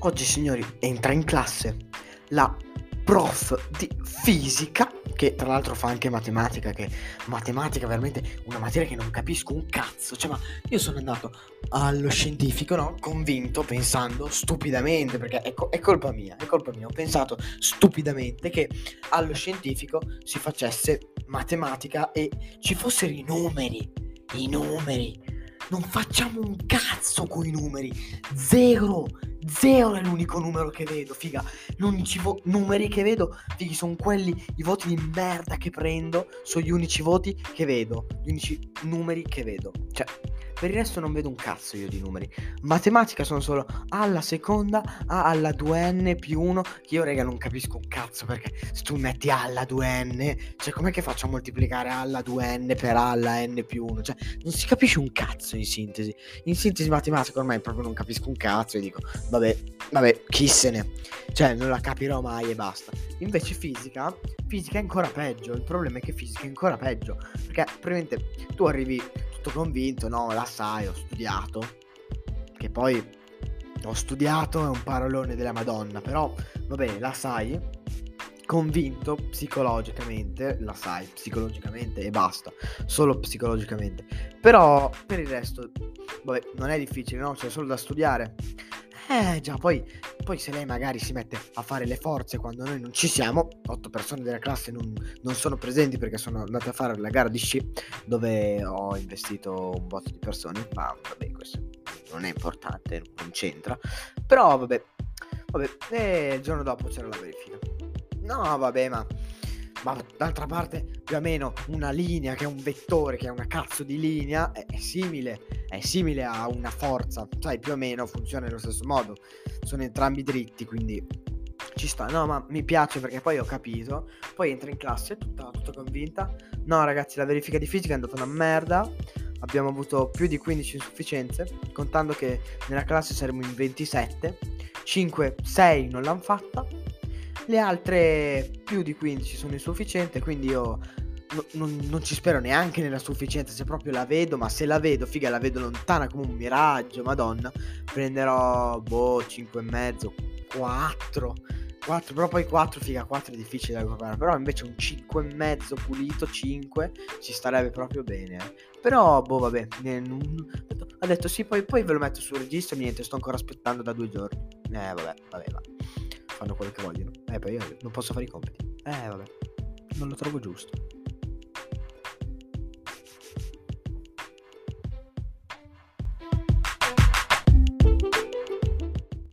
Oggi, signori, entra in classe la prof di fisica, che tra l'altro fa anche matematica, che matematica è veramente una materia che non capisco un cazzo. Cioè, ma io sono andato allo scientifico, no? Convinto, pensando stupidamente, perché è colpa mia, ho pensato stupidamente che allo scientifico si facesse matematica e ci fossero i numeri. Non facciamo un cazzo con i numeri. Zero è l'unico numero che vedo, figa. Numeri che vedo, fighi, sono quelli, i voti di merda che prendo, sono gli unici voti che vedo, gli unici numeri che vedo. Cioè, per il resto non vedo un cazzo io di numeri. Matematica sono solo A alla seconda, A alla 2n più 1, che io, raga, non capisco un cazzo, perché se tu metti A alla 2n, cioè com'è che faccio a moltiplicare A alla 2n per A alla n più 1? Cioè, non si capisce un cazzo in sintesi. In sintesi matematica ormai proprio non capisco un cazzo e dico, vabbè, chi se ne... Cioè, non la capirò mai e basta. Invece fisica è ancora peggio. Il problema è che fisica è ancora peggio, perché praticamente tu arrivi tutto convinto, no, la sai, ho studiato, che poi ho studiato è un parolone della Madonna, però vabbè, la sai, convinto psicologicamente, la sai psicologicamente e basta, solo psicologicamente. Però per il resto, vabbè, non è difficile, no? C'è solo da studiare. Già, poi se lei magari si mette a fare le forze quando noi non ci siamo, 8 persone della classe non sono presenti perché sono andate a fare la gara di sci dove ho investito un botto di persone, ma vabbè, questo non è importante, non c'entra. Però vabbè, e il giorno dopo c'era la verifica. No, vabbè, ma d'altra parte più o meno una linea che è un vettore, che è una cazzo di linea, è simile a una forza, sai, più o meno funziona nello stesso modo, sono entrambi dritti, quindi ci sta. No, ma mi piace perché poi ho capito, poi entra in classe tutta convinta. No, ragazzi, la verifica di fisica è andata una merda, abbiamo avuto più di 15 insufficienze, contando che nella classe saremo in 27, 6 non l'hanno fatta, le altre più di 15 sono insufficienti, quindi io non ci spero neanche nella sufficienza, se proprio la vedo, ma se la vedo, figa, la vedo lontana come un miraggio, madonna, prenderò 5,5, 4, però poi 4, figa, 4 è difficile da recuperare, però invece un 5,5 pulito, 5 ci starebbe proprio bene. Però vabbè, ha detto sì, poi ve lo metto sul registro, niente, sto ancora aspettando da 2 giorni. Vabbè, va. Fanno quello che vogliono. Poi io non posso fare i compiti. Vabbè, non lo trovo giusto.